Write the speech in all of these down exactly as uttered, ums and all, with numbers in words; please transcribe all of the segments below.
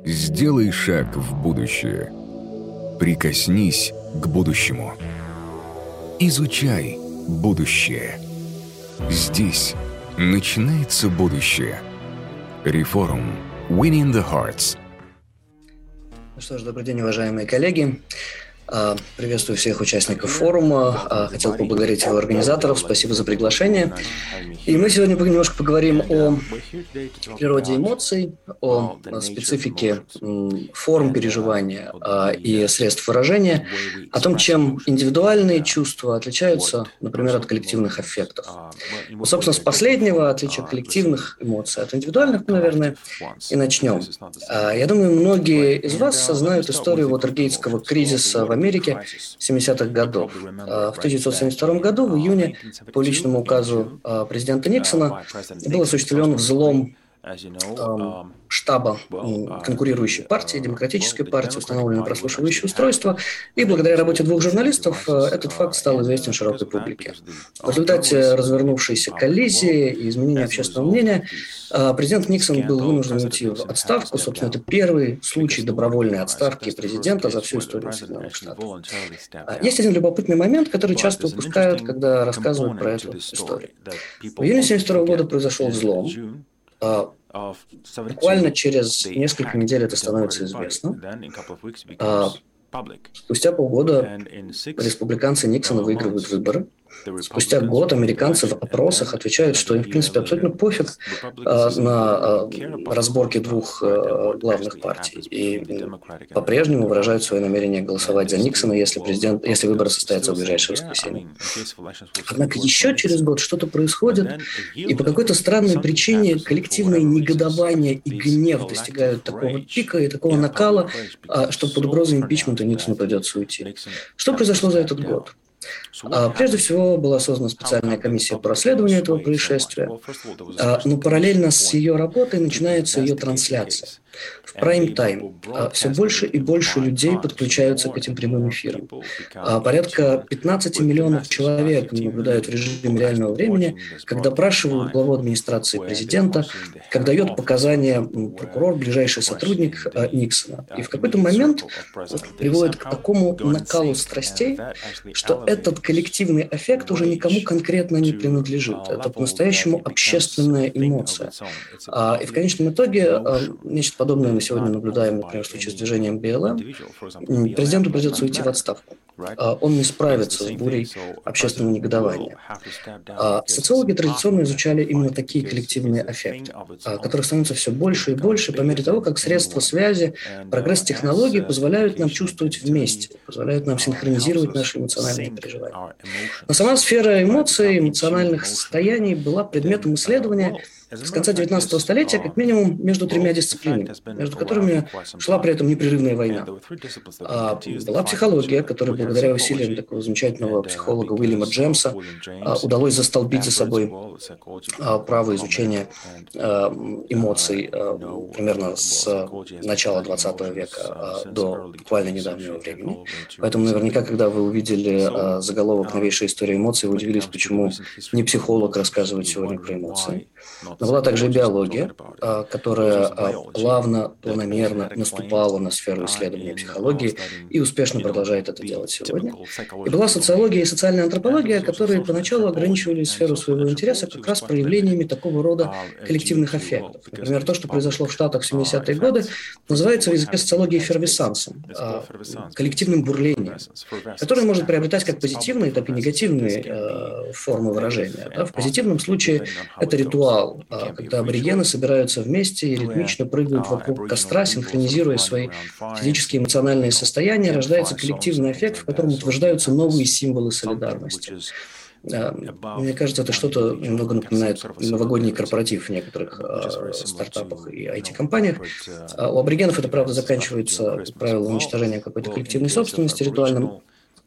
Сделай шаг в будущее. Прикоснись к будущему. Изучай будущее. Здесь начинается будущее. Reforum. Winning the Hearts. Ну что ж, добрый день, уважаемые коллеги. Приветствую всех участников форума. Хотел поблагодарить его организаторов. Спасибо за приглашение. И мы сегодня немножко поговорим о природе эмоций, о специфике форм переживания и средств выражения, о том, чем индивидуальные чувства отличаются, например, от коллективных аффектов. Ну, собственно, с последнего, отличия коллективных эмоций от индивидуальных, наверное, и начнем. Я думаю, многие из вас знают историю Уотергейтского кризиса в Америке семидесятых годов. В тысяча девятьсот семьдесят втором году, в июне, по личному указу президента Никсона, был осуществлен взлом штаба конкурирующей партии, Демократической партии, установлено прослушивающее устройство, и благодаря работе двух журналистов этот факт стал известен широкой публике. В результате развернувшейся коллизии и изменения общественного мнения президент Никсон был вынужден уйти в отставку. Собственно, это первый случай добровольной отставки президента за всю историю Соединенных Штатов. Есть один любопытный момент, который часто упускают, когда рассказывают про эту историю. В июне семьдесят второго года произошел взлом. Буквально через несколько недель это становится известно. Спустя полгода республиканцы Никсона выигрывают выборы. Спустя год американцы в опросах отвечают, что им, в принципе, абсолютно пофиг а, на а, разборки двух а, главных партий. И по-прежнему выражают свое намерение голосовать за Никсона, если, президент, если выборы состоятся в ближайшее воскресенье. Однако еще через год что-то происходит, и по какой-то странной причине коллективное негодование и гнев достигают такого пика и такого накала, а, что под угрозой импичмента Никсону придется уйти. Что произошло за этот год? Прежде всего, была создана специальная комиссия по расследованию этого происшествия, но параллельно с ее работой начинается ее трансляция. В прайм-тайм все больше и больше людей подключаются к этим прямым эфирам. Порядка пятнадцать миллионов человек наблюдают в режиме реального времени, как допрашивают главу администрации президента, как дает показания прокурор, ближайший сотрудник Никсона. И в какой-то момент приводит к такому накалу страстей, что этот коллективный аффект уже никому конкретно не принадлежит. Это по-настоящему общественная эмоция. И в конечном итоге нечто подобное мы сегодня наблюдаем, например, в случае с движением би эл эм. Президенту придется уйти в отставку. Он не справится с бурей общественного негодования. Социологи традиционно изучали именно такие коллективные аффекты, которых становится все больше и больше по мере того, как средства связи, прогресс технологий позволяют нам чувствовать вместе, позволяют нам синхронизировать наши эмоциональные переживания. Но сама сфера эмоций, эмоциональных состояний была предметом исследования с конца девятнадцатого столетия как минимум между тремя дисциплинами, между которыми шла при этом непрерывная война. А была психология, которая благодаря усилиям такого замечательного психолога Уильяма Джемса удалось застолбить за собой право изучения эмоций примерно с начала двадцатого века до буквально недавнего времени. Поэтому наверняка, когда вы увидели заголовок «Новейшая история эмоций», вы удивились, почему не психолог рассказывает сегодня про эмоции. Но была также и биология, которая плавно, планомерно наступала на сферу исследования психологии и успешно продолжает это делать сегодня. И была социология и социальная антропология, которые поначалу ограничивали сферу своего интереса как раз проявлениями такого рода коллективных аффектов. Например, то, что произошло в Штатах в семидесятые годы, называется в языке социологии эффервесцансом, коллективным бурлением, которое может приобретать как позитивные, так и негативные формы выражения. В позитивном случае это ритуал, когда аборигены собираются вместе и ритмично прыгают вокруг костра, синхронизируя свои физические и эмоциональные состояния, рождается коллективный эффект, в котором утверждаются новые символы солидарности. Мне кажется, это что-то немного напоминает новогодний корпоратив в некоторых э, стартапах и ай ти-компаниях. У аборигенов это, правда, заканчивается, как правило, уничтожением какой-то коллективной собственности ритуальным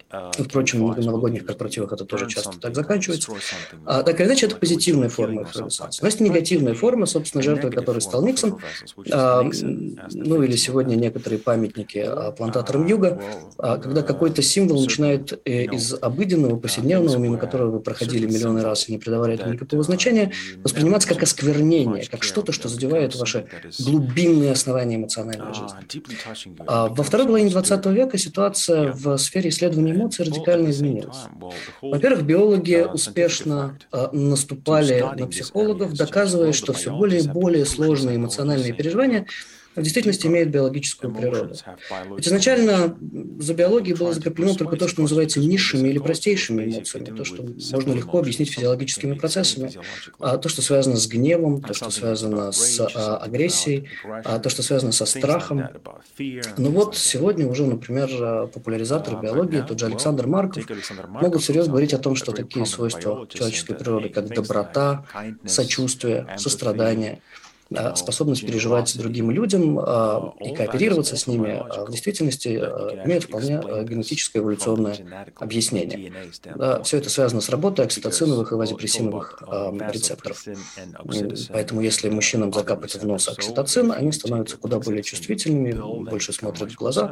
Впрочем, на новогодних корпоративах это тоже часто так заканчивается. А, так или иначе, это позитивная форма эффервесценции. Но есть негативная форма, собственно, жертвой которой стал Никсон. А, ну или сегодня некоторые памятники а, плантаторам Юга, а, когда какой-то символ начинает э, из обыденного, повседневного, мимо которого вы проходили миллионы раз и не придавали этому никакого значения, восприниматься как осквернение, как что-то, что задевает ваши глубинные основания эмоциональной жизни. А, во второй половине двадцатого века ситуация в сфере исследований эмоций радикально изменилась. Во-первых, биологи успешно а, наступали на психологов, доказывая, что все более и более сложные эмоциональные переживания в действительности имеют биологическую природу. Ведь изначально за биологией было закреплено только то, что называется низшими или простейшими эмоциями, то, что можно легко объяснить физиологическими процессами, а то, что связано с гневом, то, что связано с а, агрессией, а, то, что связано со страхом. Но вот сегодня уже, например, популяризаторы биологии, тот же Александр Марков, могут серьезно говорить о том, что такие свойства человеческой природы, как доброта, сочувствие, сострадание, способность переживать с другими людям а, и кооперироваться с ними, а, в действительности а, имеют вполне а, генетическое эволюционное объяснение. Да, все это связано с работой окситоциновых и вазопрессиновых а, рецепторов. Поэтому если мужчинам закапать в нос окситоцин, они становятся куда более чувствительными, больше смотрят в глаза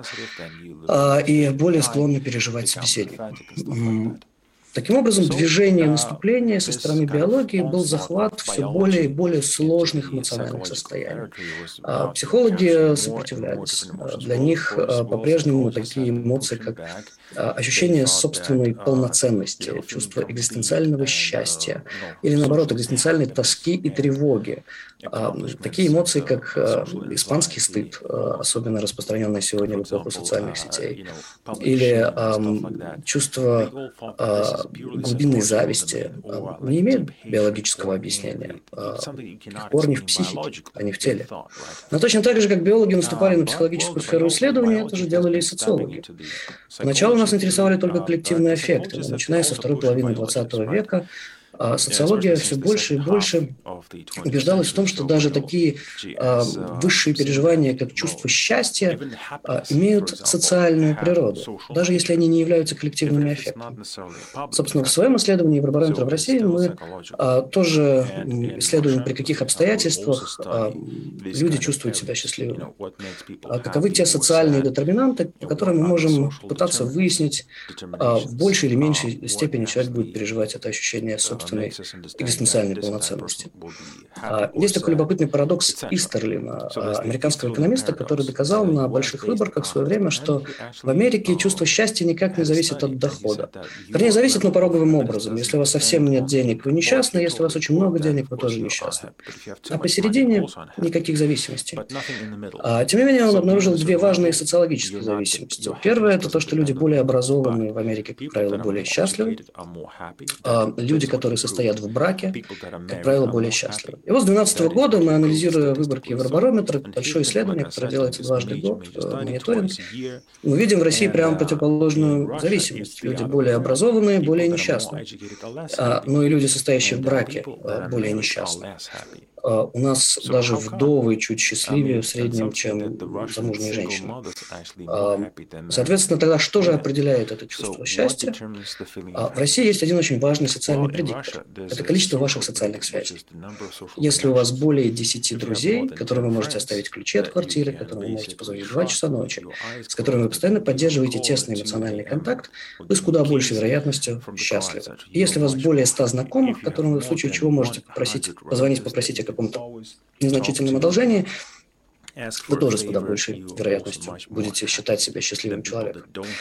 а, и более склонны переживать собеседника. Таким образом, движение наступления со стороны биологии был захват все более и более сложных эмоциональных состояний. А психологи сопротивлялись. Для них по-прежнему такие эмоции, как ощущение собственной полноценности, чувство экзистенциального счастья или, наоборот, экзистенциальной тоски и тревоги. Такие эмоции, как испанский стыд, особенно распространенный сегодня в эпоху социальных сетей, или чувство глубинной зависти, не имеют биологического объяснения. Их корни в психике, а не в теле. Но точно так же, как биологи наступали на психологическую сферу исследования, это же делали и социологи. Поначалу нас интересовали только коллективные аффекты, но начиная со второй половины двадцатого века А социология все больше и больше убеждалась в том, что даже такие а, высшие переживания, как чувство счастья, а, имеют социальную природу, даже если они не являются коллективными аффектами. Собственно, в своем исследовании Евробарометра в России мы а, тоже исследуем, при каких обстоятельствах а, люди чувствуют себя счастливыми. А каковы те социальные детерминанты, по которым мы можем пытаться выяснить, а, в большей или меньшей степени человек будет переживать это ощущение собственности экзистенциальной полноценности. Есть такой любопытный парадокс Истерлина, американского экономиста, который доказал на больших выборках в свое время, что в Америке чувство счастья никак не зависит от дохода. Вернее, зависит, но пороговым образом. Если у вас совсем нет денег, вы несчастны, если у вас очень много денег, вы тоже несчастны. А посередине никаких зависимостей. А, тем не менее, он обнаружил две важные социологические зависимости. Первое – это то, что люди более образованные в Америке, как правило, более счастливы. А, люди, которые состоят в браке, как правило, более счастливы. И вот с две тысячи двенадцатого года мы, анализируя выборки Евробарометра, большое исследование, которое делается дважды в год, мониторинг, мы видим в России прямо противоположную зависимость. Люди более образованные, более несчастные. А, но и люди, состоящие в браке, более несчастные. Uh, у нас даже вдовы чуть счастливее в среднем, чем замужние женщины. Uh, соответственно, тогда что же определяет это чувство счастья? Uh, в России есть один очень важный социальный предиктор. Это количество ваших социальных связей. Если у вас более десяти друзей, которым вы можете оставить ключи от квартиры, которым вы можете позвонить в два часа ночи, с которыми вы постоянно поддерживаете тесный эмоциональный контакт, вы с куда большей вероятностью счастливы. И если у вас более ста знакомых, которым вы в случае чего можете попросить, позвонить, попросить о каком-то незначительном одолжении, вы тоже с куда большей вероятностью будете считать себя счастливым человеком.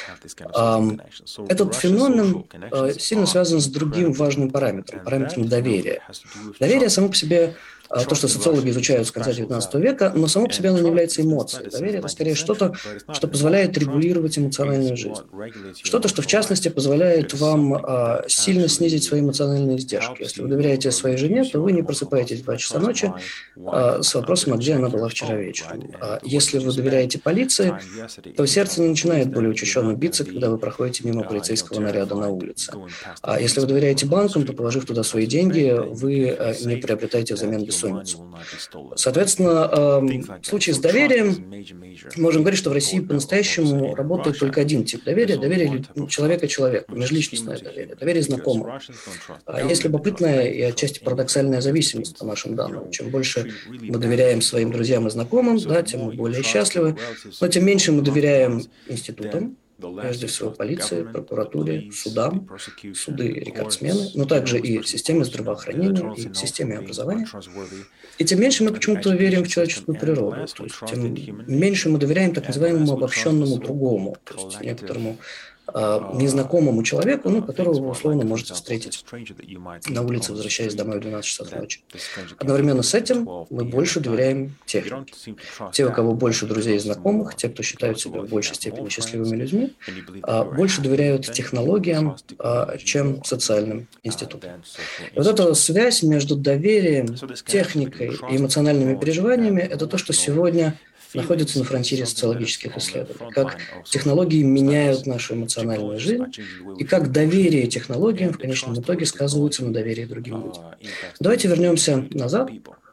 Этот феномен сильно связан с другим важным параметром, параметром доверия. Доверие само по себе то, что социологи изучают с конца девятнадцатого века, но само по себе оно не является эмоцией. Доверие – это скорее что-то, что позволяет регулировать эмоциональную жизнь. Что-то, что в частности позволяет вам а, сильно снизить свои эмоциональные издержки. Если вы доверяете своей жене, то вы не просыпаетесь в два часа ночи а, с вопросом, а где она была вчера вечером. А если вы доверяете полиции, то сердце не начинает более учащенно биться, когда вы проходите мимо полицейского наряда на улице. А если вы доверяете банкам, то, положив туда свои деньги, вы а, не приобретаете взамен бесплатно бессонницу. Соответственно, в случае с доверием можем говорить, что в России по-настоящему работает только один тип доверия – доверие человека человеку, межличностное доверие, доверие знакомым. Есть любопытная и отчасти парадоксальная зависимость по нашим данным. Чем больше мы доверяем своим друзьям и знакомым, да, тем мы более счастливы, но тем меньше мы доверяем институтам, прежде всего полиции, прокуратуре, судам, суды – рекордсмены, но также и системе здравоохранения, и системе образования. И тем меньше мы почему-то верим в человеческую природу, то есть тем меньше мы доверяем так называемому обобщенному другому, то есть некоторому незнакомому человеку, ну, которого вы условно можете встретить на улице, возвращаясь домой в двенадцать часов ночи. Одновременно с этим мы больше доверяем технике. Те, у кого больше друзей и знакомых, те, кто считают себя в большей степени счастливыми людьми, больше доверяют технологиям, чем социальным институтам. И вот эта связь между доверием, техникой и эмоциональными переживаниями – это то, что сегодня находится на фронтире социологических исследований. Как технологии меняют нашу эмоциональную жизнь, и как доверие технологиям в конечном итоге сказывается на доверии другим людям. Давайте вернемся назад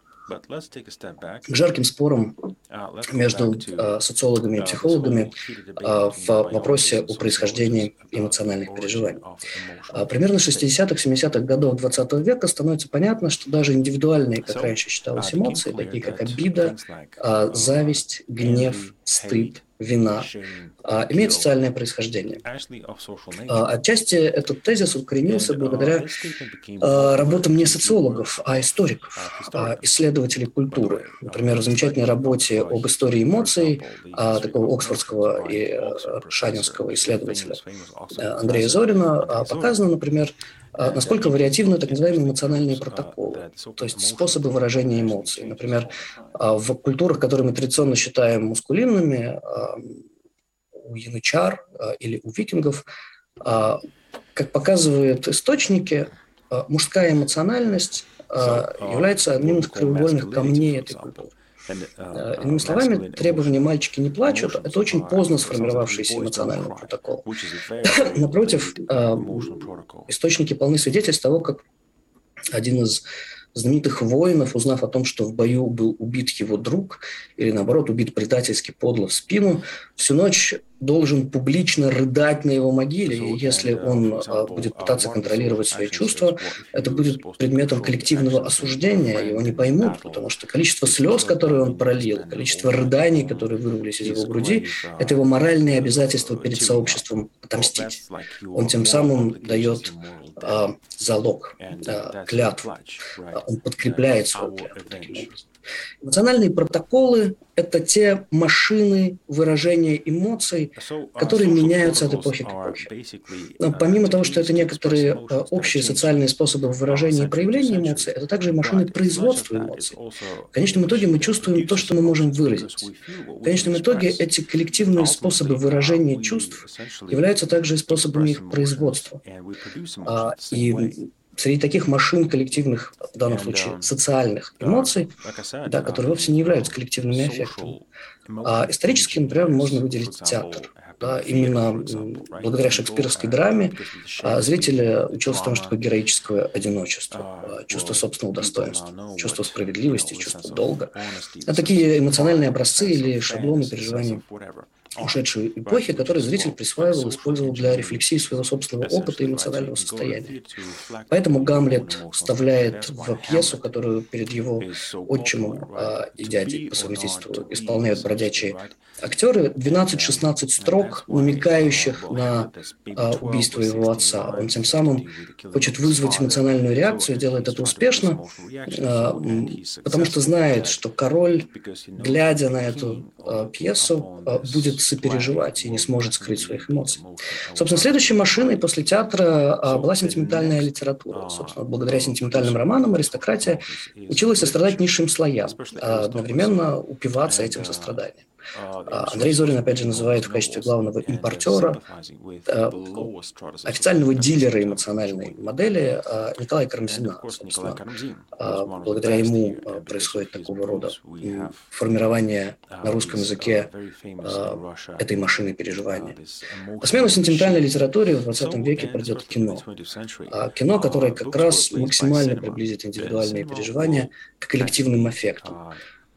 к жарким спорам между э, социологами и психологами э, в вопросе о происхождении эмоциональных переживаний. Э, примерно с шестидесятых-семидесятых годов двадцатого века становится понятно, что даже индивидуальные, как раньше считалось, эмоции, такие как обида, э, зависть, гнев, стыд, вина, а, имеет социальное происхождение. А, отчасти этот тезис укоренился благодаря а, работам не социологов, а историков, а, исследователей культуры. Например, в замечательной работе об истории эмоций а, такого оксфордского и а, шанинского исследователя а, Андрея Зорина а, показано, например, насколько вариативны так называемые эмоциональные протоколы, то есть способы выражения эмоций. Например, в культурах, которые мы традиционно считаем мускулинными, у янычар или у викингов, как показывают источники, мужская эмоциональность является одним из краеугольных камней этой культуры. Иными словами, требования «мальчики не плачут» – это очень поздно сформировавшийся эмоциональный протокол. Напротив, источники полны свидетельств того, как один из знаменитых воинов, узнав о том, что в бою был убит его друг, или наоборот, убит предательски подло в спину, всю ночь должен публично рыдать на его могиле, и если он а, будет пытаться контролировать свои чувства, это будет предметом коллективного осуждения, его не поймут, потому что количество слез, которые он пролил, количество рыданий, которые вырвались из его груди, это его моральные обязательства перед сообществом отомстить. Он тем самым дает а, залог, а, клятву, он подкрепляет свою клятву таким образом. Эмоциональные протоколы – это те машины выражения эмоций, которые меняются от эпохи к эпохе. Но помимо того, что это некоторые общие социальные способы выражения и проявления эмоций, это также машины производства эмоций. В конечном итоге мы чувствуем то, что мы можем выразить. В конечном итоге эти коллективные способы выражения чувств являются также и способами их производства. И среди таких машин коллективных, в данном случае социальных эмоций, да, которые вовсе не являются коллективными аффектами, а исторически, например, можно выделить театр. Да, именно благодаря шекспировской драме зритель учился тому, что такое героическое одиночество, чувство собственного достоинства, чувство справедливости, чувство долга. Это такие эмоциональные образцы или шаблоны переживаний ушедшей эпохи, которые зритель присваивал и использовал для рефлексии своего собственного опыта и эмоционального состояния. Поэтому Гамлет вставляет в пьесу, которую перед его отчимом а, и дядей по совместительству исполняют бродячие актеры, двенадцать-шестнадцать строк, намекающих на а, убийство его отца. Он тем самым хочет вызвать эмоциональную реакцию, делает это успешно, а, потому что знает, что король, глядя на эту а, пьесу, а, будет сопереживать и не сможет скрыть своих эмоций. Собственно, следующей машиной после театра а, была сентиментальная литература. Собственно, благодаря сентиментальным романам аристократия училась сострадать низшим слоям, а одновременно упиваться этим состраданием. Андрей Зорин, опять же, называет в качестве главного импортера, официального дилера эмоциональной модели Николая Карамзина. Собственно, благодаря ему происходит такого рода формирование на русском языке этой машины переживания. На смену сентиментальной литературе в двадцатом веке придет кино. Кино, которое как раз максимально приблизит индивидуальные переживания к коллективным эффектам.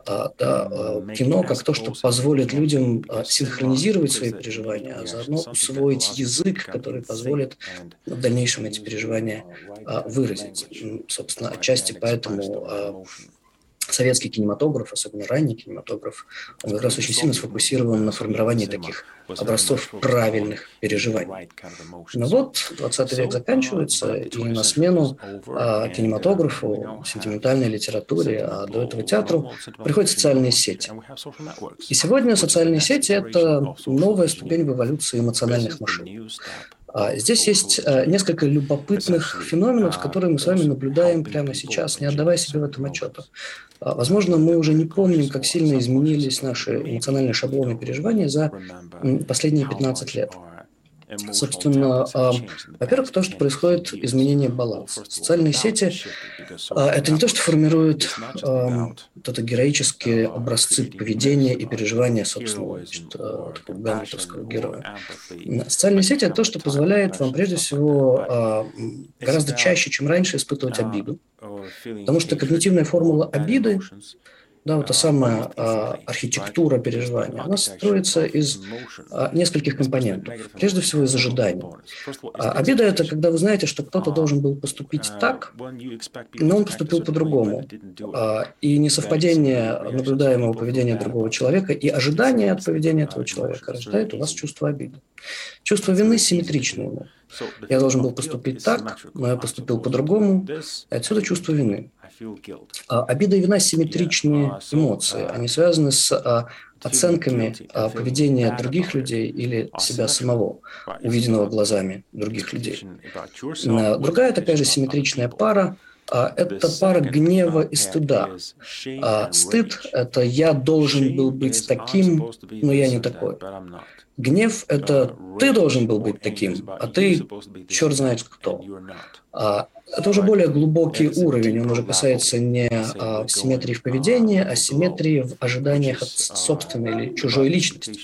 Да, кино как то, что позволит людям синхронизировать свои переживания, а заодно усвоить язык, который позволит в дальнейшем эти переживания выразить. Собственно, отчасти поэтому советский кинематограф, особенно ранний кинематограф, он как раз очень сильно сфокусирован на формировании таких образцов правильных переживаний. Но вот двадцатый век заканчивается, и на смену а, кинематографу, сентиментальной литературе, а до этого театру приходят социальные сети. И сегодня социальные сети – это новая ступень в эволюции эмоциональных машин. Здесь есть несколько любопытных феноменов, которые мы с вами наблюдаем прямо сейчас, не отдавая себе в этом отчета. Возможно, мы уже не помним, как сильно изменились наши эмоциональные шаблоны переживания за последние пятнадцать лет. Собственно, во-первых, то, что происходит изменение баланса. Социальные сети – это не то, что формируют вот это героические образцы поведения и переживания собственного значит, такого гамлетовского героя. Социальные сети – это то, что позволяет вам, прежде всего, гораздо чаще, чем раньше, испытывать обиду. Потому что когнитивная формула обиды, да, вот та самая а, архитектура переживания, она строится из а, нескольких компонентов. Прежде всего, из ожиданий. А, обида – это когда вы знаете, что кто-то должен был поступить так, но он поступил по-другому. А, и несовпадение наблюдаемого поведения другого человека и ожидания от поведения этого человека рождает у вас чувство обиды. Чувство вины симметрично ему. Я должен был поступить так, но я поступил по-другому, и отсюда чувство вины. А, обида и вина – симметричные эмоции. Они связаны с а, оценками а, поведения других людей или себя самого, увиденного глазами других людей. А, другая такая же симметричная пара а, – это пара гнева и стыда. А, стыд – это «я должен был быть таким, но я не такой». Гнев – это «ты должен был быть таким, а ты черт знает кто». А, это уже более глубокий уровень, он уже касается не а, симметрии в поведении, а симметрии в ожиданиях от собственной или чужой личности.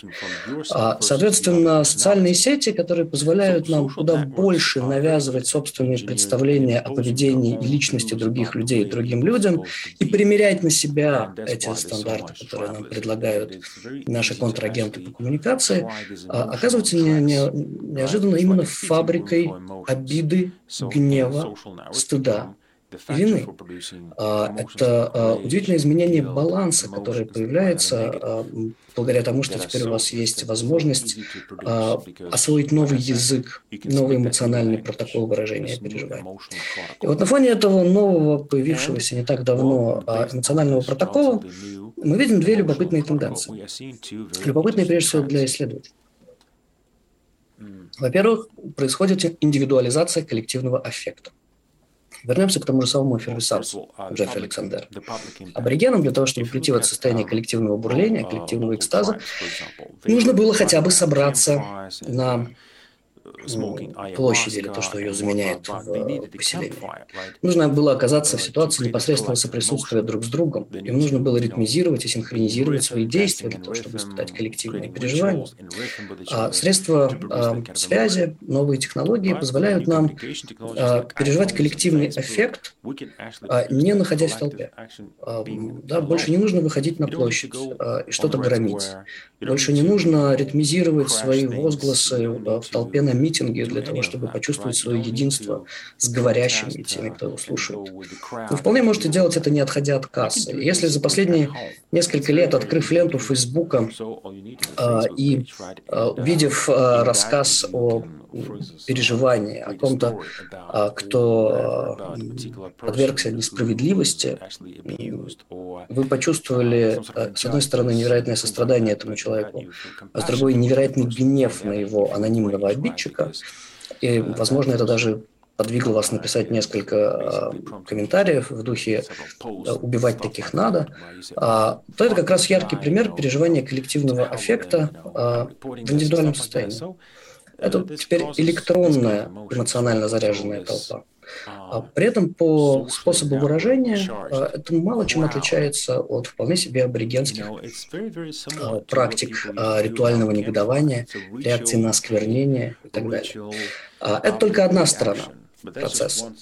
А, соответственно, социальные сети, которые позволяют нам куда больше навязывать собственные представления о поведении и личности других людей другим людям и примерять на себя эти стандарты, которые нам предлагают наши контрагенты по коммуникации, а, оказываются не, не, неожиданно именно фабрикой обиды, гнева, стыда и вины. Это удивительное изменение баланса, которое появляется благодаря тому, что теперь у вас есть возможность освоить новый язык, новый эмоциональный протокол выражения переживаний. И вот на фоне этого нового, появившегося не так давно эмоционального протокола, мы видим две любопытные тенденции. Любопытные, прежде всего, для исследователей. Во-первых, происходит индивидуализация коллективного аффекта. Вернемся к тому же самому эффервесцансу Джеффри Александера. Аборигенам для того, чтобы прийти в это состояние коллективного бурления, коллективного экстаза, нужно было хотя бы собраться на площади, или то, что ее заменяет в поселении. Нужно было оказаться в ситуации непосредственного соприсутствия друг с другом. Им нужно было ритмизировать и синхронизировать свои действия для того, чтобы испытать коллективные переживания. А средства а, связи, новые технологии позволяют нам а, переживать коллективный эффект, а, не находясь в толпе. А, да, больше не нужно выходить на площадь а, и что-то громить. Больше не нужно ритмизировать свои возгласы а, в толпе на митинге для того, чтобы почувствовать свое единство с говорящими и теми, кто его слушает. Вы вполне можете делать это, не отходя от кассы. Если за последние несколько лет, открыв ленту Фейсбука э, и э, увидев э, рассказ о переживании, о ком-то, э, кто э, подвергся несправедливости, вы почувствовали, э, с одной стороны, невероятное сострадание этому человеку, а с другой, невероятный гнев на его анонимного обидчика. И, возможно, это даже подвигло вас написать несколько э, комментариев в духе «убивать таких надо», э, то это как раз яркий пример переживания коллективного аффекта э, в индивидуальном состоянии. Это теперь электронная, эмоционально заряженная толпа. При этом по способу выражения это мало чем отличается от вполне себе аборигенских практик ритуального негодования, реакции на осквернение и так далее. Это только одна сторона процесса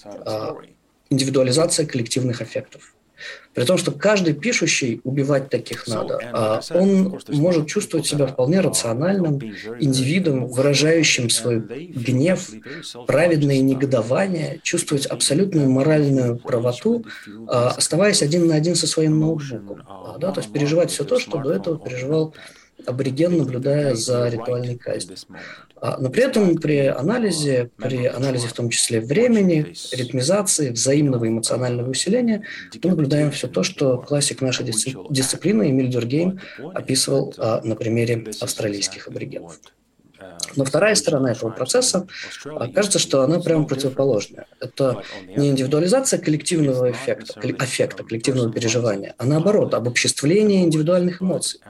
– индивидуализация коллективных аффектов. При том, что каждый пишущий «убивать таких надо», он может чувствовать себя вполне рациональным индивидом, выражающим свой гнев, праведное негодование, чувствовать абсолютную моральную правоту, оставаясь один на один со своим ноутбуком. Да? То есть переживать все то, что до этого переживал абориген, наблюдая за ритуальной казнью. Но при этом при анализе, при анализе в том числе времени, ритмизации, взаимного эмоционального усиления, мы наблюдаем все то, что классик нашей дисциплины Эмиль Дюркгейм описывал на примере австралийских аборигенов. Но вторая сторона этого процесса, кажется, что она прямо противоположная. Это не индивидуализация коллективного эффекта, аффекта, коллективного переживания, а наоборот, обобществление индивидуальных эмоций.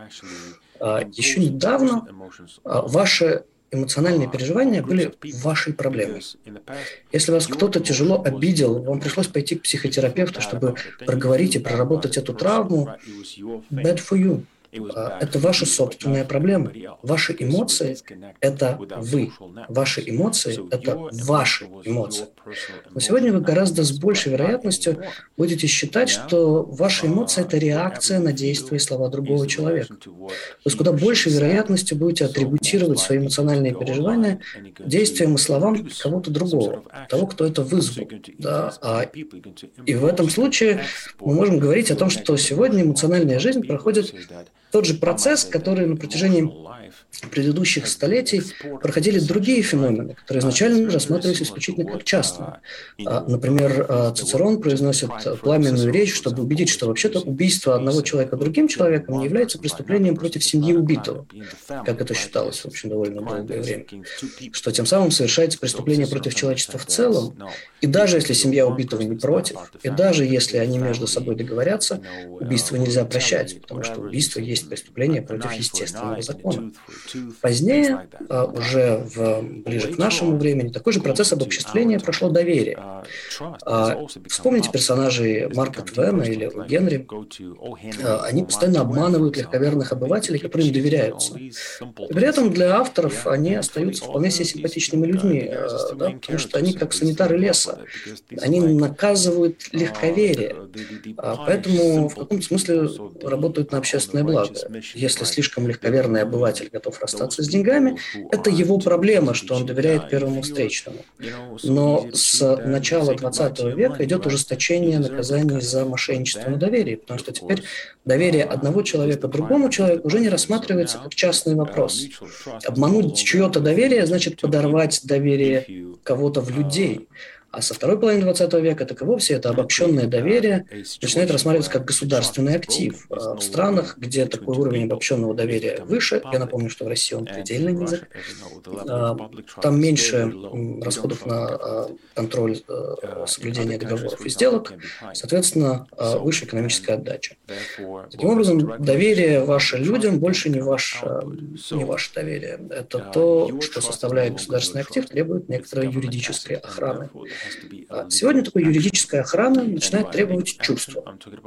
Еще недавно ваши эмоциональные переживания были вашей проблемой. Если вас кто-то тяжело обидел, вам пришлось пойти к психотерапевту, чтобы проговорить и проработать эту травму, bad for you. Это ваша собственная проблема. Ваши эмоции – это вы. Ваши эмоции – это ваши эмоции. Но сегодня вы гораздо с большей вероятностью будете считать, что ваши эмоции – это реакция на действия и слова другого человека. То есть куда большей вероятностью будете атрибутировать свои эмоциональные переживания действиям и словам кого-то другого, того, кто это вызвал. Да? И в этом случае мы можем говорить о том, что сегодня эмоциональная жизнь проходит тот же процесс, который на протяжении предыдущих столетий проходили другие феномены, которые изначально рассматривались исключительно как частные. Например, Цицерон произносит пламенную речь, чтобы убедить, что вообще-то убийство одного человека другим человеком не является преступлением против семьи убитого, как это считалось, в общем, довольно долгое время, что тем самым совершается преступление против человечества в целом, и даже если семья убитого не против, и даже если они между собой договорятся, убийство нельзя прощать, потому что убийство есть преступление против естественного закона. Позднее, уже в, ближе к нашему времени, такой же процесс обобществления прошло доверие. Вспомните персонажей Марка Твена или О. Генри. Они постоянно обманывают легковерных обывателей, которые им доверяются. И при этом для авторов они остаются вполне себе симпатичными людьми, да, потому что они как санитары леса. Они наказывают легковерие, поэтому в каком-то смысле работают на общественное благо. Если слишком легковерный обыватель готов расстаться с деньгами, это его проблема, что он доверяет первому встречному. Но с начала двадцатого века идет ужесточение наказаний за мошенничество на доверии, потому что теперь доверие одного человека другому человеку уже не рассматривается как частный вопрос. Обмануть чье-то доверие значит подорвать доверие кого-то в людей. А со второй половины двадцатого века так и вовсе это обобщенное доверие начинает рассматриваться как государственный актив. В странах, где такой уровень обобщенного доверия выше, я напомню, что в России он предельно низок, там меньше расходов на контроль соблюдения договоров и сделок, соответственно, выше экономическая отдача. Таким образом, доверие ваше людям больше не ваше, не ваше доверие. Это то, что составляет государственный актив, требует некоторой юридической охраны. Сегодня такой юридическая охрана начинает требовать чувства.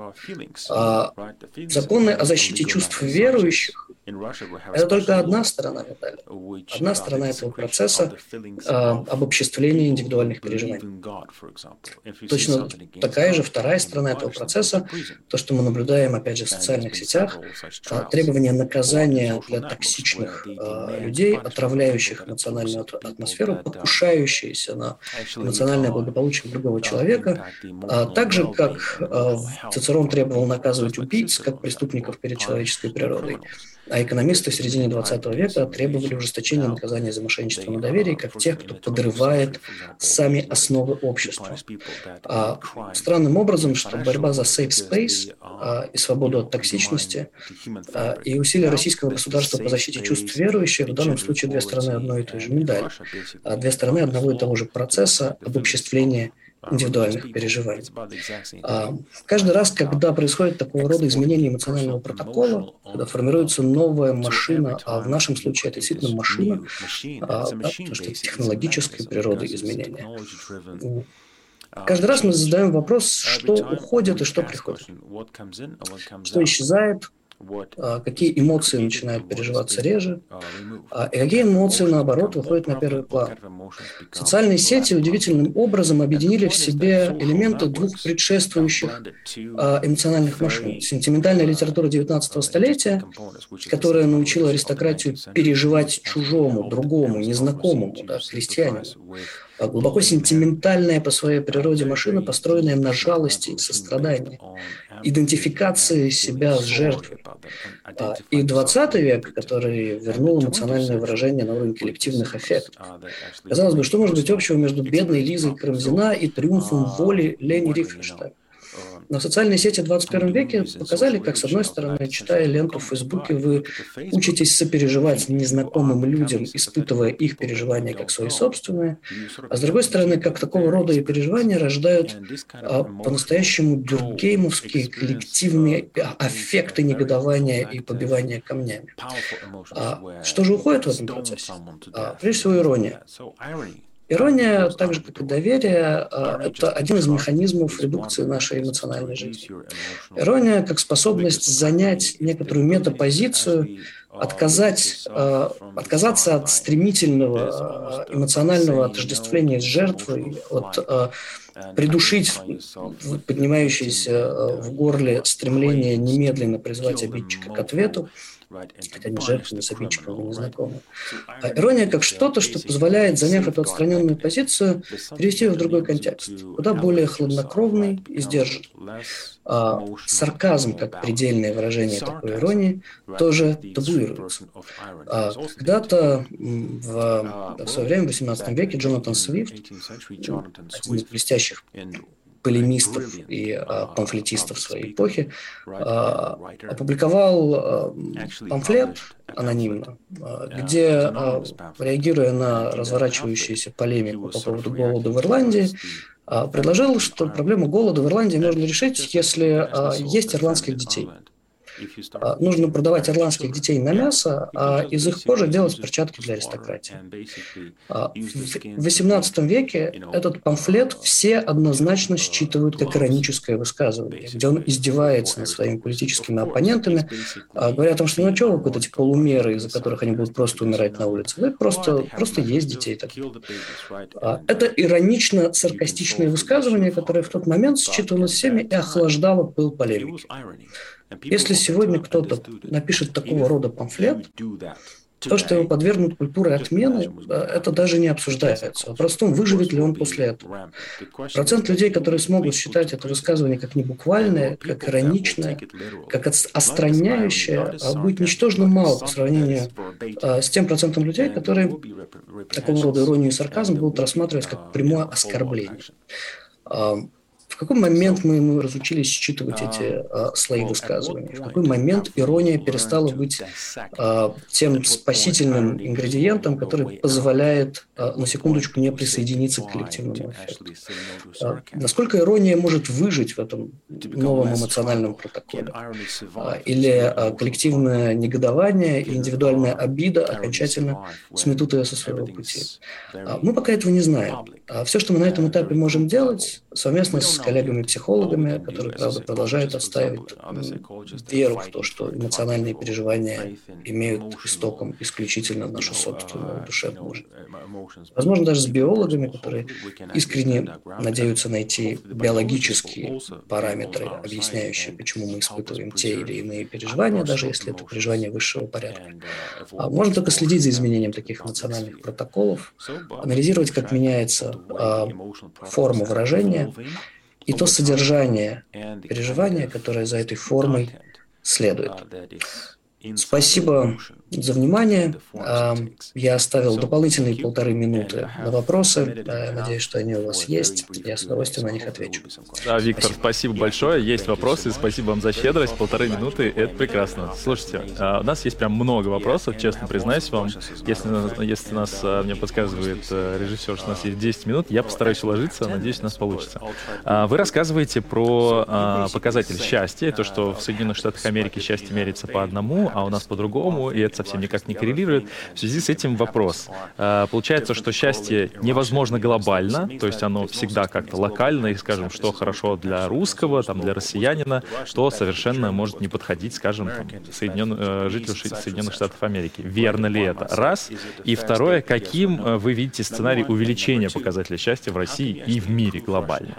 А законы о защите чувств верующих – это только одна сторона медали. Одна сторона этого процесса а, обобществления индивидуальных переживаний. Точно такая же вторая сторона этого процесса, то, что мы наблюдаем, опять же, в социальных сетях, а, требование наказания для токсичных а, людей, отравляющих эмоциональную атмосферу, покушающиеся на эмоциональное благополучие другого человека, а, так же, как а, Цицерон требовал наказывать убийц, как преступников перед человеческой природой. А экономисты в середине двадцатого века требовали ужесточения наказания за мошенничество на доверии, как тех, кто подрывает сами основы общества. А странным образом, что борьба за safe space а, и свободу от токсичности а, и усилия российского государства по защите чувств верующих в данном случае две стороны одной и той же медали, а две стороны одного и того же процесса обобществления индивидуальных переживаний. А, каждый раз, когда происходит такого рода изменение эмоционального протокола, когда формируется новая машина, а в нашем случае это действительно машина, а, да, потому что это технологической природы изменения. Каждый раз мы задаем вопрос, что уходит и что приходит, что исчезает, какие эмоции начинают переживаться реже, и какие эмоции, наоборот, выходят на первый план. Социальные сети удивительным образом объединили в себе элементы двух предшествующих эмоциональных машин. Сентиментальная литература девятнадцатого столетия, которая научила аристократию переживать чужому, другому, незнакомому, да, крестьянину. Глубоко сентиментальная по своей природе машина, построенная на жалости и сострадании, идентификации себя с жертвой. И двадцатый век, который вернул эмоциональное выражение на уровень коллективных аффектов. Казалось бы, что может быть общего между бедной Лизой Карамзина и триумфом воли Лени Рифенштейна? Но социальные сети в двадцать первом веке показали, как, с одной стороны, читая ленту в Фейсбуке, вы учитесь сопереживать незнакомым людям, испытывая их переживания как свои собственные, а с другой стороны, как такого рода и переживания рождают а, по-настоящему дюркгеймовские коллективные аффекты негодования и побивания камнями. А, что же уходит в этом процессе? А, прежде всего, ирония. Ирония, так же как и доверие, это один из механизмов редукции нашей эмоциональной жизни. Ирония как способность занять некоторую метапозицию, отказать, отказаться от стремительного эмоционального отождествления с жертвой, от придушить поднимающееся в горле стремление немедленно призвать обидчика к ответу, хотя ни жертвы, ни с обидчиком, ни незнакомы. А ирония как что-то, что позволяет, заняв эту отстраненную позицию, перевести ее в другой контекст, куда более хладнокровный и сдержанный. А сарказм, как предельное выражение такой иронии, тоже табуируется. А когда-то в, в свое время, в восемнадцатом веке, Джонатан Свифт, один из блестящих полемистов и а, памфлетистов своей эпохи, а, опубликовал а, памфлет анонимно, а, где, а, реагируя на разворачивающуюся полемику по поводу голода в Ирландии, а, предложил, что проблему голода в Ирландии можно решить, если а, есть ирландских детей. А, нужно продавать ирландских детей на мясо, а из их кожи делать перчатки для аристократии. А, в восемнадцатом веке этот памфлет все однозначно считывают как ироническое высказывание, где он издевается над своими политическими оппонентами, а, говоря о том, что ну что вы вот эти полумеры, из-за которых они будут просто умирать на улице, вы просто, просто есть детей. Так. А, это иронично-саркастичное высказывание, которое в тот момент считывалось всеми и охлаждало пыл полемики. Если сегодня кто-то напишет такого рода памфлет, то, что его подвергнут культуре отмены, это даже не обсуждается. Вопрос в том, выживет ли он после этого. Процент людей, которые смогут считать это высказывание как небуквальное, как ироничное, как отстраняющее, будет ничтожно мало по сравнению с тем процентом людей, которые такого рода иронию и сарказм будут рассматривать как прямое оскорбление. В какой момент мы, мы разучились считывать эти а, слои высказываний? В какой момент ирония перестала быть а, тем спасительным ингредиентом, который позволяет, а, на секундочку, не присоединиться к коллективному эффекту? А, насколько ирония может выжить в этом новом эмоциональном протоколе? А, или а, коллективное негодование и индивидуальная обида окончательно сметут ее со своего пути? А, мы пока этого не знаем. А все, что мы на этом этапе можем делать, совместно с коллегами-психологами, которые, правда, продолжают отстаивать веру в то, что эмоциональные переживания имеют истоком исключительно нашу собственную душевную жизнь. Возможно, даже с биологами, которые искренне надеются найти биологические параметры, объясняющие, почему мы испытываем те или иные переживания, даже если это переживания высшего порядка. А можно только следить за изменением таких эмоциональных протоколов, анализировать, как меняется а, форма выражения, и то содержание переживания, которое за этой формой следует. Спасибо за внимание. Я оставил дополнительные полторы минуты на вопросы. Надеюсь, что они у вас есть. Я с удовольствием на них отвечу. Да, Виктор, спасибо, спасибо большое. Есть вопросы. Спасибо вам за щедрость. Полторы минуты — это прекрасно. Слушайте, у нас есть прям много вопросов, честно признаюсь вам. Если, если нас, мне подсказывает режиссер, что у нас есть десять минут, я постараюсь уложиться. Надеюсь, у нас получится. Вы рассказываете про показатель счастья, то, что в Соединенных Штатах Америки счастье меряется по одному, а у нас по-другому, и это совсем никак не коррелирует. В связи с этим вопрос. Получается, что счастье невозможно глобально, то есть оно всегда как-то локально, и, скажем, что хорошо для русского, там, для россиянина, что совершенно может не подходить, скажем, там, Соединен... жителю Соединенных Штатов Америки. Верно ли это? Раз. И второе, каким вы видите сценарий увеличения показателя счастья в России и в мире глобально?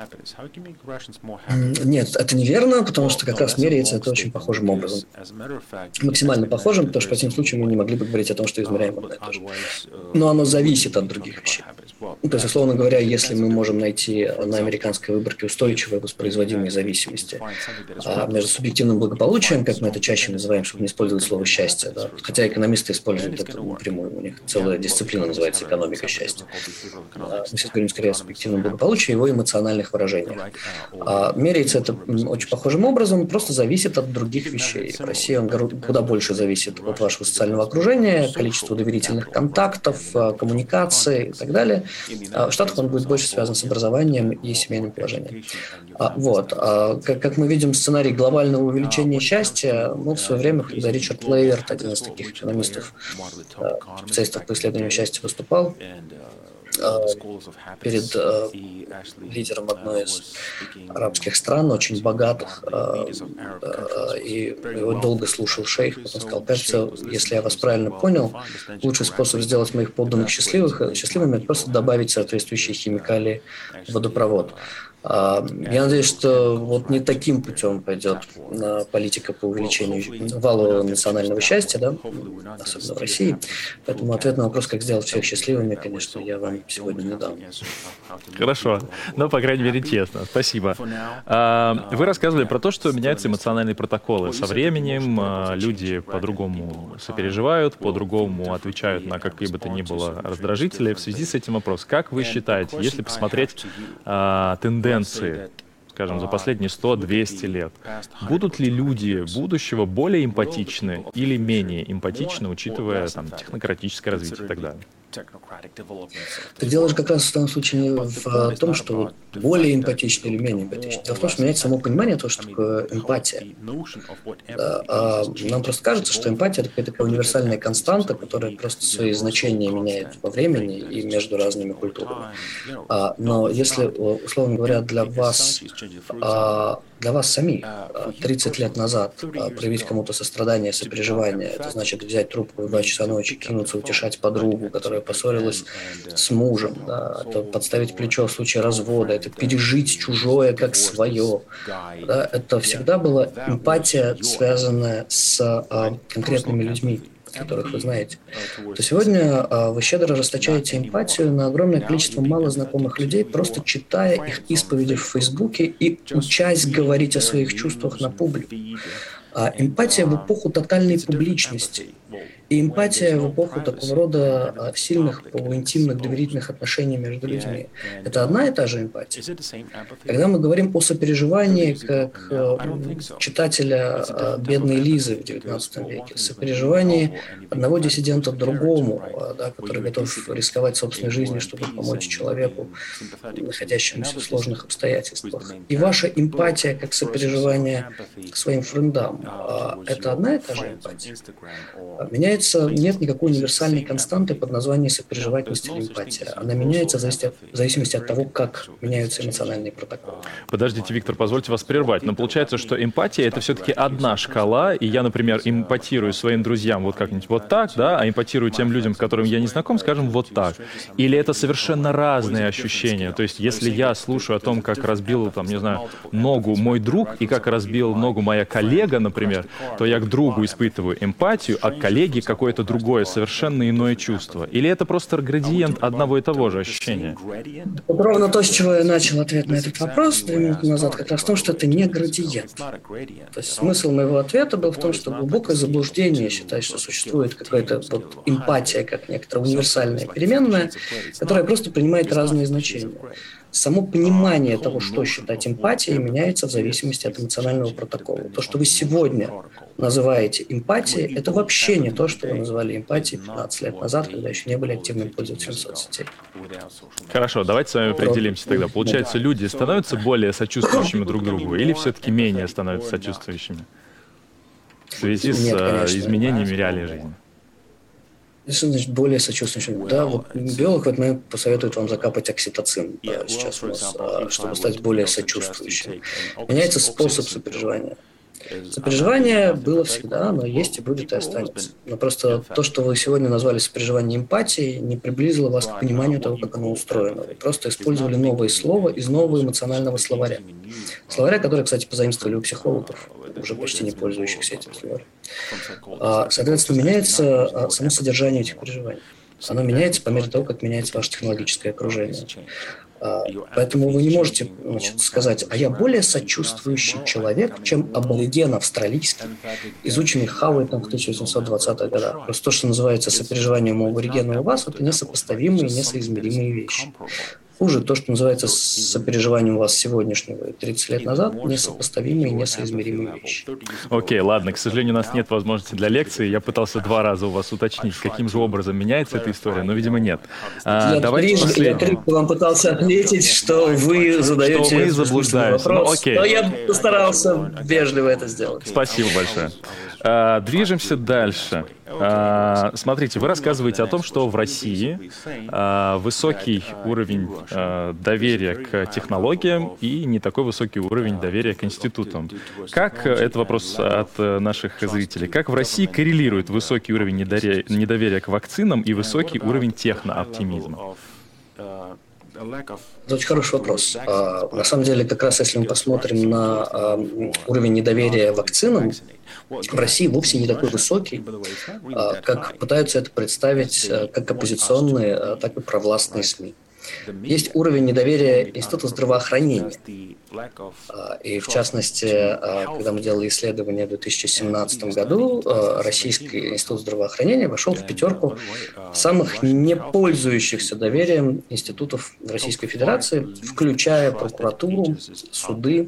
Нет, это неверно, потому что как раз меряется это очень похожим образом. Максимально похожим, потому что в противном случае мы не могли бы говорить о том, что измеряем одно и то же. Но оно зависит от других вещей. То есть, условно говоря, если мы можем найти на американской выборке устойчивые воспроизводимые зависимости а между субъективным благополучием, как мы это чаще называем, чтобы не использовать слово «счастье», да? Хотя экономисты используют это напрямую, у них целая дисциплина называется экономика счастья. Мы сейчас говорим скорее о субъективном благополучии и его эмоциональных выражениях. А меряется это очень похожим образом, просто зависит от других вещей. В России он куда больше зависит от вашего социального окружения, количества доверительных контактов, коммуникации и так далее. В Штатах он будет больше связан с образованием и семейным положением. Вот. Как мы видим, сценарий глобального увеличения счастья, ну, в свое время, когда Ричард Лейерт, один из таких экономистов, специалистов по исследованию счастья, выступал перед э, лидером одной из арабских стран, очень богатых, э, э, и его долго слушал шейх, потом сказал: кажется, если я вас правильно понял, лучший способ сделать моих подданных счастливых, счастливыми – это просто добавить соответствующие химикалии в водопровод. Я надеюсь, что вот не таким путем пойдет политика по увеличению валового национального счастья, да, особенно в России. Поэтому ответ на вопрос, как сделать всех счастливыми, конечно, я вам сегодня не дам. Хорошо, но, по крайней мере, честно. Спасибо. Вы рассказывали про то, что меняются эмоциональные протоколы. Со временем люди по-другому сопереживают, по-другому отвечают на какие бы то ни было раздражители. В связи с этим вопрос: как вы считаете, если посмотреть тенденции, скажем, за последние сто-двести лет, будут ли люди будущего более эмпатичны или менее эмпатичны, учитывая там технократическое развитие и так далее? Так дело же как раз в том случае в том, что более эмпатичны или менее эмпатичны. Дело в том, что меняется само понимание того, что такое эмпатия. Да, а нам просто кажется, что эмпатия – это какая-то такая универсальная константа, которая просто свои значения меняет во времени и между разными культурами. А, но если, условно говоря, для вас, а, для вас самих тридцать лет назад проявить кому-то сострадание, сопереживание, это значит взять трубку в два часа ночи, кинуться утешать подругу, которая поссорилась с мужем, да, это подставить плечо в случае развода, это пережить чужое как свое. Да, это всегда была эмпатия, связанная с а, конкретными людьми, которых вы знаете. То сегодня а, вы щедро расточаете эмпатию на огромное количество малознакомых людей, просто читая их исповеди в Фейсбуке и учась говорить о своих чувствах на публике. А эмпатия в эпоху тотальной публичности и эмпатия в эпоху такого рода а, сильных, полуинтимных, доверительных отношений между людьми – это одна и та же эмпатия. Когда мы говорим о сопереживании как а, читателя а, бедной Лизы в девятнадцатом веке, сопереживании одного диссидента другому, а, да, который готов рисковать собственной жизнью, чтобы помочь человеку, находящемуся в сложных обстоятельствах, и ваша эмпатия как сопереживание своим френдам а, – это одна и та же эмпатия. Меняется, нет никакой универсальной константы под названием сопереживательность или эмпатия. Она меняется в зависимости от того, как меняются эмоциональные протоколы. Подождите, Виктор, позвольте вас прервать, но получается, что эмпатия — это все-таки одна шкала, и я, например, эмпатирую своим друзьям вот как-нибудь вот так, да, а эмпатирую тем людям, с которыми я не знаком, скажем, вот так. Или это совершенно разные ощущения? То есть, если я слушаю о том, как разбил, там, не знаю, ногу мой друг и как разбил ногу моя коллега, например, то я к другу испытываю эмпатию, а к коллеге какое-то другое, совершенно иное чувство? Или это просто градиент одного и того же ощущения? Вот ровно то, с чего я начал ответ на этот вопрос две минуты назад, как раз в том, что это не градиент. То есть смысл моего ответа был в том, что глубокое заблуждение считать, что существует какая-то вот эмпатия, как некоторая универсальная переменная, которая просто принимает разные значения. Само понимание того, что считать эмпатией, меняется в зависимости от эмоционального протокола. То, что вы сегодня называете эмпатией, это вообще не то, что вы называли эмпатией пятнадцать лет назад, когда еще не были активным пользователем соцсетей. Хорошо, давайте с вами определимся тогда. Получается, люди становятся более сочувствующими друг другу или все-таки менее становятся сочувствующими в связи с Нет, изменениями реалий жизни? Что значит более сочувствующим? Да, вот биолог в этот момент посоветует вам закапать окситоцин да, сейчас у нас, чтобы стать более сочувствующим. Меняется способ сопереживания. Сопереживание было всегда, но есть и будет и останется. Но просто то, что вы сегодня назвали сопереживание эмпатией, не приблизило вас к пониманию того, как оно устроено. Вы просто использовали новое слово из нового эмоционального словаря. Словаря, который, кстати, позаимствовали у психологов, уже почти не пользующихся этим словарем. Соответственно, меняется само содержание этих переживаний. Оно меняется по мере того, как меняется ваше технологическое окружение. Поэтому вы не можете, значит, сказать, а я более сочувствующий человек, чем абориген австралийский, изученный Хауитом в тысяча восемьсот двадцатых годах. Просто то, что называется сопереживанием у аборигена у вас, это несопоставимые и несоизмеримые вещи. Хуже то, что называется сопереживанием у вас сегодняшнего и тридцать лет назад, несопоставимые и несоизмеримые вещи. Окей, okay, ладно, к сожалению, у нас нет возможности для лекции. Я пытался два раза у вас уточнить, каким же образом меняется эта история, но, видимо, нет. А, я трижды, я трижды вам пытался ответить, что вы задаете что мы заблуждаемся. вопрос, ну, но я постарался вежливо это сделать. Спасибо большое. А, движемся дальше. А, смотрите, вы рассказываете о том, что в России а, высокий уровень а, доверия к технологиям и не такой высокий уровень доверия к институтам. Как, это вопрос от наших зрителей, как в России коррелирует высокий уровень недоверия, недоверия к вакцинам и высокий уровень технооптимизма? Это очень хороший вопрос. А, на самом деле, как раз если мы посмотрим на а, уровень недоверия вакцинам, в России вовсе не такой высокий, а, как пытаются это представить а, как оппозиционные, а, так и провластные СМИ. Есть уровень недоверия Института здравоохранения. И в частности, когда мы делали исследование в две тысячи семнадцатом году, Российский институт здравоохранения вошел в пятерку самых не пользующихся доверием институтов Российской Федерации, включая прокуратуру, суды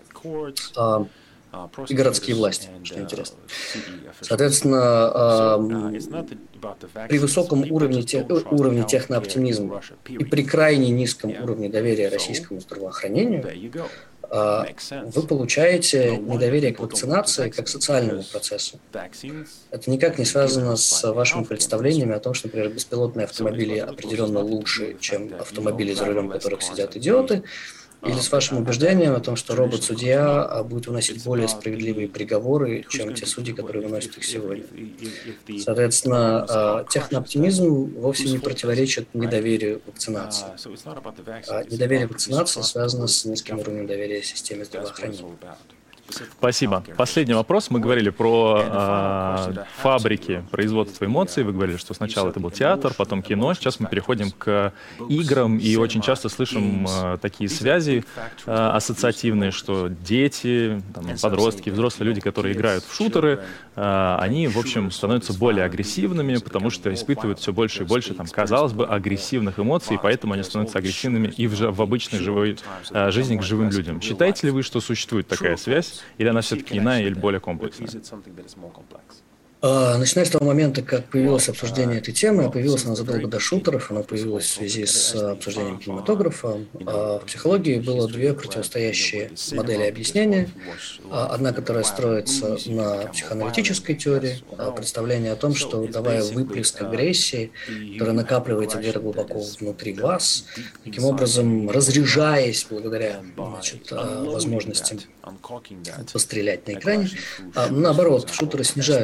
и городские власти, что интересно. Соответственно, при высоком уровне, те, уровне технооптимизма и при крайне низком уровне доверия российскому здравоохранению вы получаете недоверие к вакцинации как социальному процессу. Это никак не связано с вашими представлениями о том, что, например, беспилотные автомобили определенно лучше, чем автомобили, за рулем которых сидят идиоты, или с вашим убеждением о том, что робот-судья будет выносить более справедливые приговоры, чем те судьи, которые выносят их сегодня. Соответственно, технооптимизм вовсе не противоречит недоверию вакцинации. Недоверие вакцинации связано с низким уровнем доверия системе здравоохранения. Спасибо. Последний вопрос. Мы говорили про э, фабрики производства эмоций. Вы говорили, что сначала это был театр, потом кино. Сейчас мы переходим к играм и очень часто слышим э, такие связи э, ассоциативные, что дети, там, подростки, взрослые люди, которые играют в шутеры, э, они, в общем, становятся более агрессивными, потому что испытывают все больше и больше, там, казалось бы, агрессивных эмоций, и поэтому они становятся агрессивными и в, в обычной живой э, жизни к живым людям. Считаете ли вы, что существует такая связь? Или она все-таки иная или более комплексная? Начиная с того момента, как появилось обсуждение этой темы, появилась она задолго до шутеров, она появилась в связи с обсуждением кинематографа. В психологии было две противостоящие модели объяснения. Одна, которая строится на психоаналитической теории, представление о том, что давая выплеск агрессии, которая накапливается где-то глубоко внутри вас, таким образом разряжаясь благодаря, значит, возможности пострелять на экране, наоборот, шутеры снижают уровень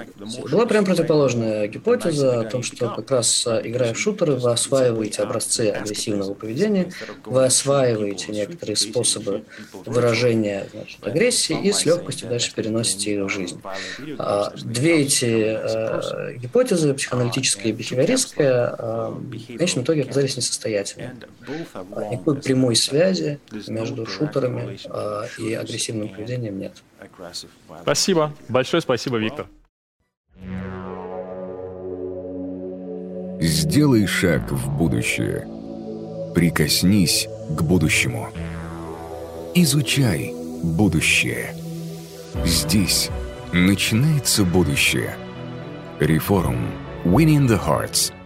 Была прям противоположная гипотеза о том, что как раз играя в шутеры, вы осваиваете образцы агрессивного поведения, вы осваиваете некоторые способы выражения, значит, агрессии и с легкостью дальше переносите их в жизнь. Две эти э, гипотезы, психоаналитическая и бихевиористская, э, в конечном итоге оказались несостоятельными. Никакой прямой связи между шутерами э, и агрессивным поведением нет. Спасибо. Большое спасибо, Виктор. Сделай шаг в будущее. Прикоснись к будущему. Изучай будущее. Здесь начинается будущее. Reforum. Winning the Hearts.